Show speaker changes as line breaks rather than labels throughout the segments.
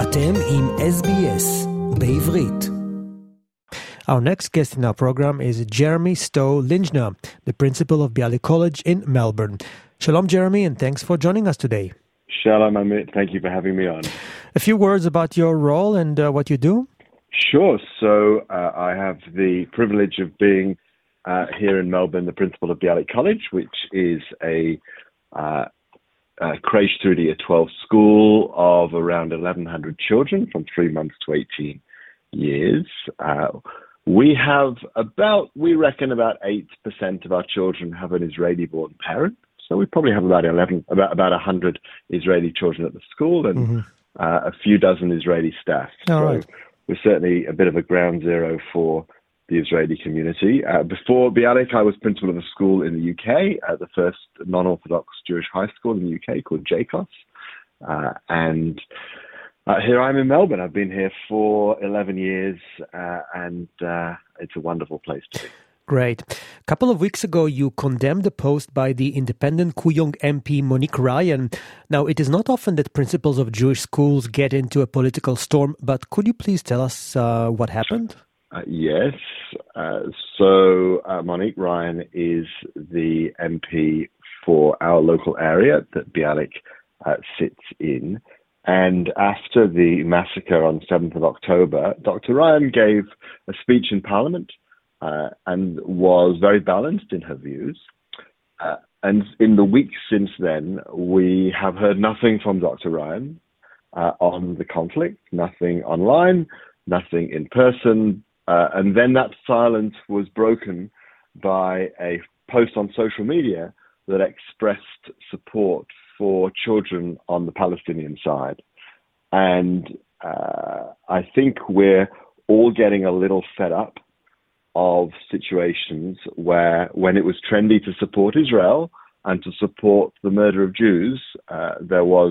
אתם עם SBS בעברית. Our next guest in our program is Jeremy Stowe-Linjner, the principal of Bialik College in Melbourne. Shalom, Jeremy, and thanks for joining us today.
Shalom, Amit. Thank you for having me on.
A few words about your role and what you do?
Sure. So I have the privilege of being here in Melbourne, the principal of Bialik College, which is a creche through to year 12 school of around 1,100 children from 3 months to 18 years. We reckon about 8% of our children have an Israeli-born parent. So we probably have about 100 Israeli children at the school and a few dozen Israeli staff.
All right.
We're certainly a bit of a ground zero for the Israeli community. Before Bialik, I was principal of a school in the UK, the first non-Orthodox Jewish high school in the UK called JCOS. And here I'm in Melbourne. I've been here for 11 years, and it's a wonderful place to be.
Great. A couple of weeks ago, you condemned a post by the independent Kooyong MP Monique Ryan. Now, it is not often that principals of Jewish schools get into a political storm, but could you please tell us what happened?
Yes. So Monique Ryan is the MP for our local area that Bialik sits in. And after the massacre on 7th of October, Dr. Ryan gave a speech in Parliament and was very balanced in her views. And in the weeks since then, we have heard nothing from Dr. Ryan on the conflict, nothing online, nothing in person. And then that silence was broken by a post on social media that expressed support for children on the Palestinian side. And I think we're all getting a little fed up of situations where when it was trendy to support Israel and to support the murder of Jews, there was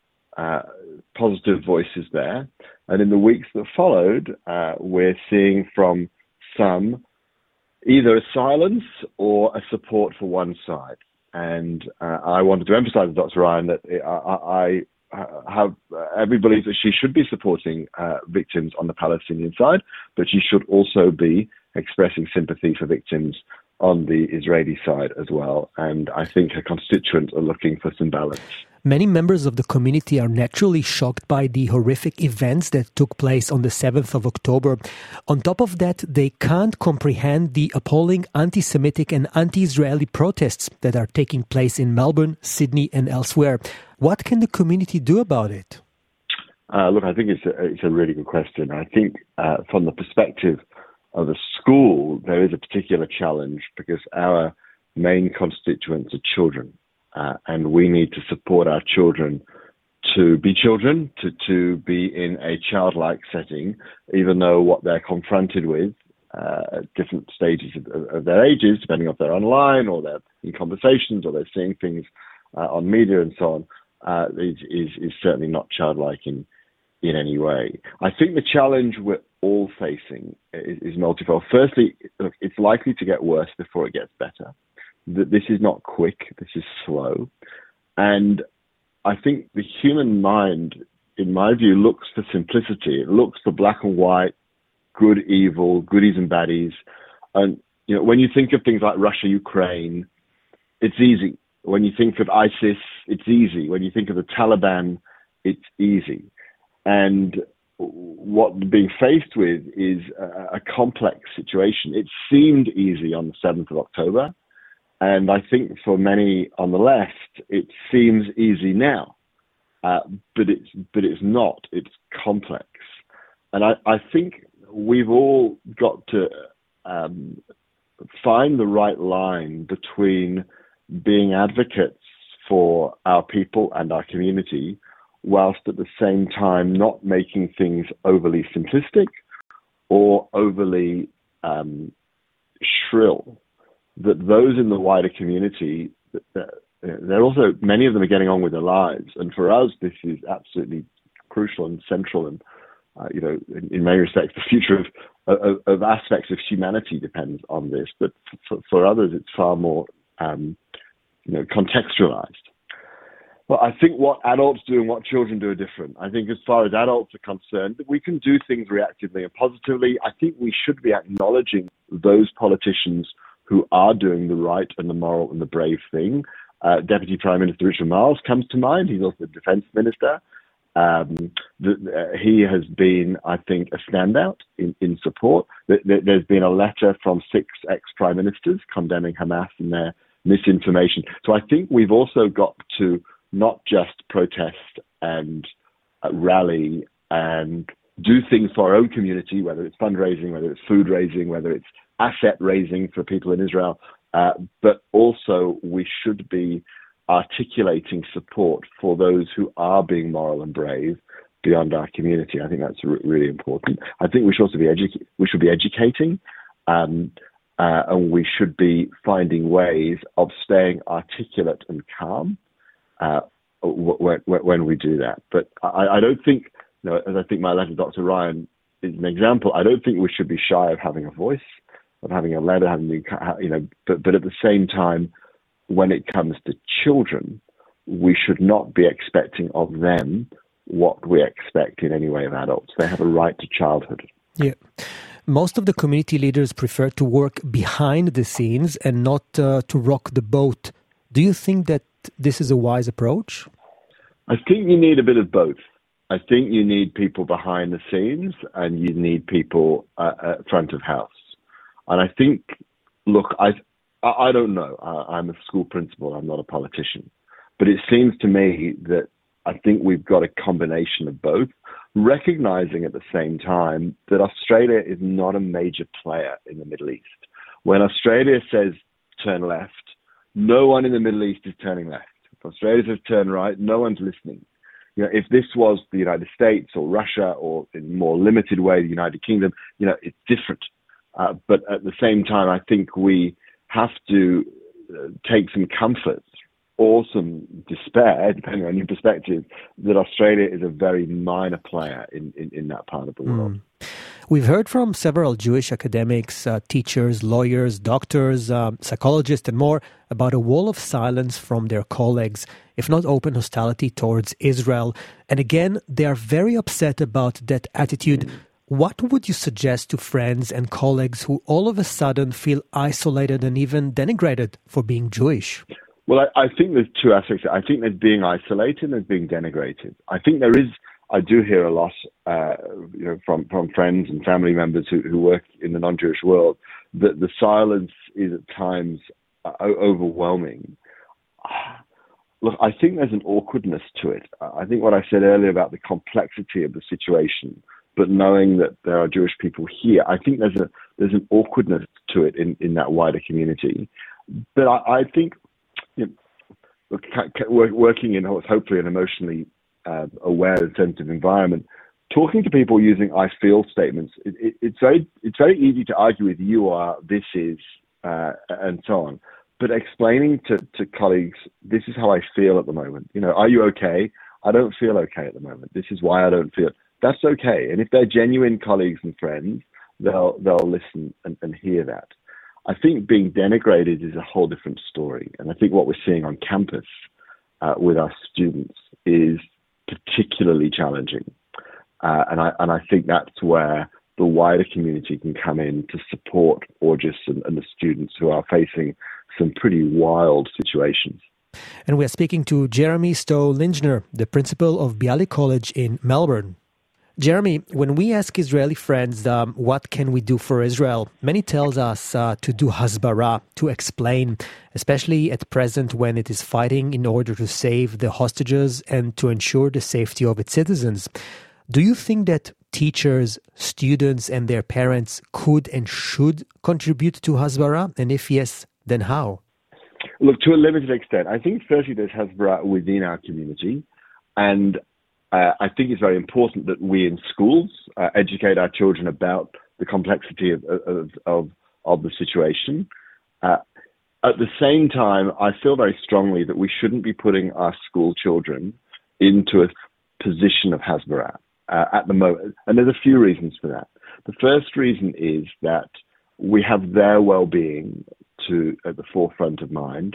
positive voices there. And in the weeks that followed, we're seeing from some either a silence or a support for one side. And I wanted to emphasize to Dr. Ryan that I have every belief that she should be supporting victims on the Palestinian side, but she should also be expressing sympathy for victims on the Israeli side as well. And I think her constituents are looking for some balance.
Many members of the community are naturally shocked by the horrific events that took place on the 7th of October. On top of that, they can't comprehend the appalling anti-Semitic and anti-Israeli protests that are taking place in Melbourne, Sydney and elsewhere. What can the community do about it?
Look, I think it's a really good question. I think from the perspective of the school, there is a particular challenge because our main constituents are children. And we need to support our children to be children, to be in a childlike setting, even though what they're confronted with at different stages of their ages, depending if they're online or they're in conversations or they're seeing things on media and so on, is certainly not childlike in any way. I think the challenge we're all facing is multifold. Firstly, look, it's likely to get worse before it gets better. This is not quick, this is slow. And I think the human mind, in my view, looks for simplicity. It looks for black and white, good, evil, goodies and baddies. And when you think of things like Russia, Ukraine, it's easy. When you think of ISIS, it's easy. When you think of the Taliban, it's easy. And what we're being faced with is a complex situation. It seemed easy on the 7th of October. And I think for many on the left, it seems easy now, but it's not. It's complex, and I think we've all got to find the right line between being advocates for our people and our community, whilst at the same time not making things overly simplistic or overly shrill. That those in the wider community, they're also, many of them are getting on with their lives. And for us, this is absolutely crucial and central. And, in many respects, the future of aspects of humanity depends on this. But for others, it's far more contextualized. Well, I think what adults do and what children do are different. I think as far as adults are concerned, we can do things reactively and positively. I think we should be acknowledging those politicians who are doing the right and the moral and the brave thing. Deputy Prime Minister Richard Marles comes to mind. He's also the Defence Minister. He has been, I think, a standout in support. There's been a letter from 6 ex-prime ministers condemning Hamas and their misinformation. So I think we've also got to not just protest and rally and do things for our own community, whether it's fundraising, whether it's food raising, whether it's asset raising for people in Israel, but also we should be articulating support for those who are being moral and brave beyond our community. I think that's really important. I think we should also be educating, and we should be finding ways of staying articulate and calm when we do that. But I don't think, as I think my letter to Dr. Ryan is an example, I don't think we should be shy of having a voice, of having a letter, but at the same time, when it comes to children, we should not be expecting of them what we expect in any way of adults. They have a right to childhood.
Yeah. Most of the community leaders prefer to work behind the scenes and not to rock the boat. Do you think that this is a wise approach?
I think you need a bit of both. I think you need people behind the scenes and you need people at front of house. And I think, look, I don't know. I'm a school principal. I'm not a politician. But it seems to me that I think we've got a combination of both, recognizing at the same time that Australia is not a major player in the Middle East. When Australia says turn left, no one in the Middle East is turning left. If Australia says turn right, no one's listening. If this was the United States or Russia or in a more limited way, the United Kingdom, it's different. But at the same time, I think we have to take some comfort or some despair, depending on your perspective, that Australia is a very minor player in that part of the world.
We've heard from several Jewish academics, teachers, lawyers, doctors, psychologists, and more about a wall of silence from their colleagues, if not open hostility towards Israel. And again, they are very upset about that attitude. What would you suggest to friends and colleagues who all of a sudden feel isolated and even denigrated for being Jewish?
Well, I think there's two aspects. I think there's being isolated and there's being denigrated. I think there is, I do hear a lot from friends and family members who work in the non-Jewish world, that the silence is at times overwhelming. Look, I think there's an awkwardness to it. I think what I said earlier about the complexity of the situation, but knowing that there are Jewish people here, I think there's an awkwardness to it in that wider community. But I think working in hopefully an emotionally aware and sensitive environment, talking to people using "I feel" statements, it's very easy to argue with "you are," "this is," and so on. But explaining to colleagues, this is how I feel at the moment. Are you okay? I don't feel okay at the moment. This is why I don't feel. That's okay. And if they're genuine colleagues and friends, they'll listen and hear that. I think being denigrated is a whole different story. And I think what we're seeing on campus with our students is particularly challenging. And I think that's where the wider community can come in to support August and the students who are facing some pretty wild situations.
And we are speaking to Jeremy Stowe-Lingner, the principal of Bialik College in Melbourne. Jeremy, when we ask Israeli friends, what can we do for Israel? Many tells us to do hasbara, to explain, especially at present when it is fighting in order to save the hostages and to ensure the safety of its citizens. Do you think that teachers, students and their parents could and should contribute to hasbara? And if yes, then how?
Look, to a limited extent. I think firstly there's hasbara within our community, and I think it's very important that we in schools educate our children about the complexity of the situation. At the same time, I feel very strongly that we shouldn't be putting our school children into a position of hasbara at the moment. And there's a few reasons for that. The first reason is that we have their well-being at the forefront of mind.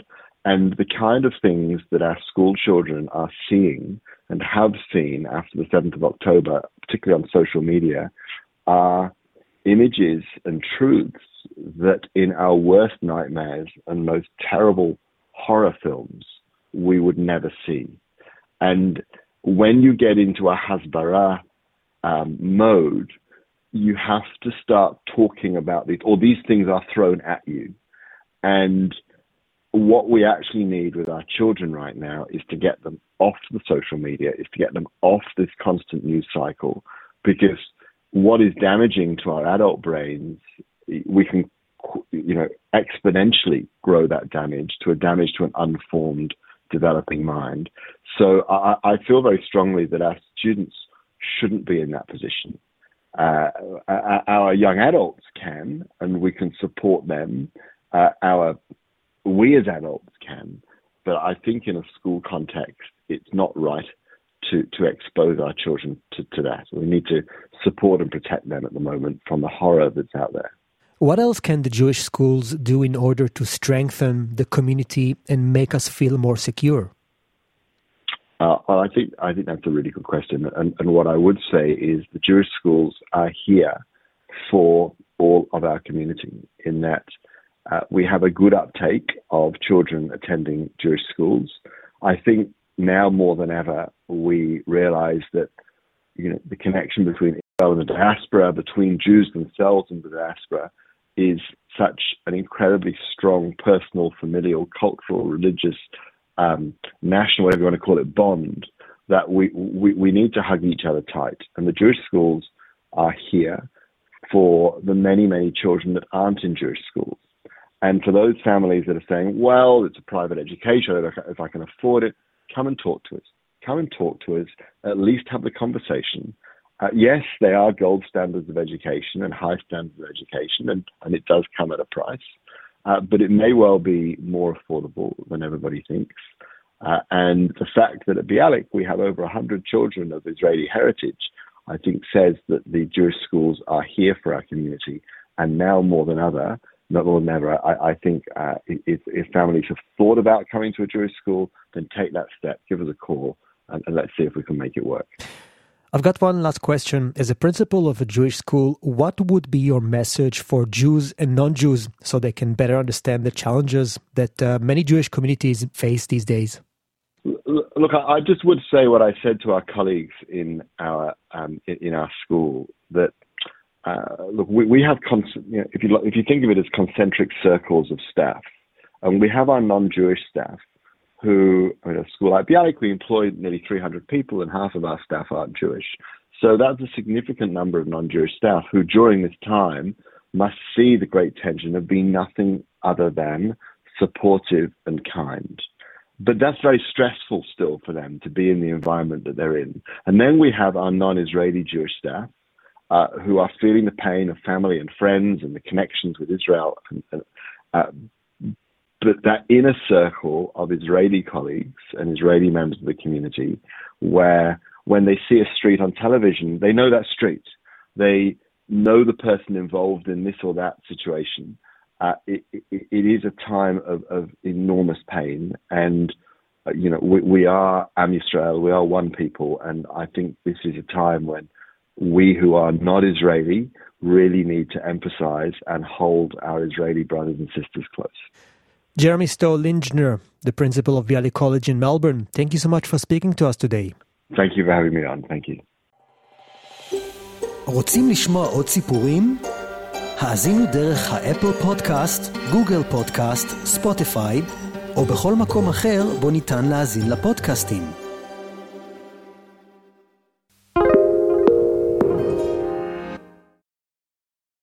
And the kind of things that our school children are seeing and have seen after the 7th of October, particularly on social media, are images and truths that in our worst nightmares and most terrible horror films, we would never see. And when you get into a hasbara mode, you have to start talking about these, or these things are thrown at you. And what we actually need with our children right now is to get them off the social media, is to get them off this constant news cycle, because what is damaging to our adult brains, we can, exponentially grow that damage to an unformed, developing mind. So I feel very strongly that our students shouldn't be in that position. Our young adults can, and we can support them. We as adults can, but I think in a school context, it's not right to expose our children to that. We need to support and protect them at the moment from the horror that's out there.
What else can the Jewish schools do in order to strengthen the community and make us feel more secure?
Well, I think that's a really good question. And what I would say is the Jewish schools are here for all of our community, in that we have a good uptake of children attending Jewish schools. I think now more than ever, we realize that, the connection between Israel and the diaspora, between Jews themselves and the diaspora, is such an incredibly strong personal, familial, cultural, religious, national, whatever you want to call it, bond, that we need to hug each other tight. And the Jewish schools are here for the many, many children that aren't in Jewish schools. And for those families that are saying, well, it's a private education, if I can afford it, come and talk to us. Come and talk to us, at least have the conversation. Yes, they are gold standards of education and high standards of education, and it does come at a price. But it may well be more affordable than everybody thinks. And the fact that at Bialik we have over 100 children of Israeli heritage, I think says that the Jewish schools are here for our community. And now more than ever, I think if families have thought about coming to a Jewish school, then take that step, give us a call, and let's see if we can make it work.
I've got one last question. As a principal of a Jewish school, what would be your message for Jews and non-Jews so they can better understand the challenges that many Jewish communities face these days?
Look, I just would say what I said to our colleagues in our school, that we have if you think of it as concentric circles of staff, and we have our non-Jewish staff who, at a school like Bialik, we employ nearly 300 people, and half of our staff aren't Jewish. So that's a significant number of non-Jewish staff who, during this time, must see the great tension of being nothing other than supportive and kind. But that's very stressful still for them to be in the environment that they're in. And then we have our non-Israeli Jewish staff who are feeling the pain of family and friends and the connections with Israel. But that inner circle of Israeli colleagues and Israeli members of the community, where when they see a street on television, they know that street. They know the person involved in this or that situation. It is a time of enormous pain. And, we are Am Yisrael, we are one people. And I think this is a time when we who are not Israeli really need to emphasize and hold our Israeli brothers and sisters close.
Jeremy Stoll-Lingner, the principal of Bialik College in Melbourne, thank you so much for speaking to us today.
Thank you for having me on. Thank you.
רוצים לשמוע עוד סיפורים? האזינו דרך האפל פודקאסט, גוגל פודקאסט, ספוטיפיי, או בכל מקום אחר בו ניתן להאזין לפודקאסטים.